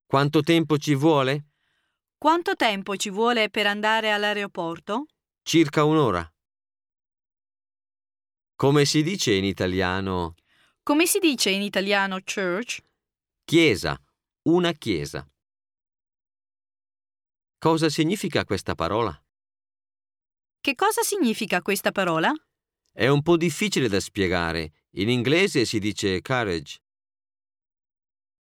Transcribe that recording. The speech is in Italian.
Quanto tempo ci vuole? Quanto tempo ci vuole per andare all'aeroporto? Circa un'ora. Come si dice in italiano? Come si dice in italiano church? Chiesa, una chiesa. Cosa significa questa parola? Che cosa significa questa parola? È un po' difficile da spiegare. In inglese si dice carriage.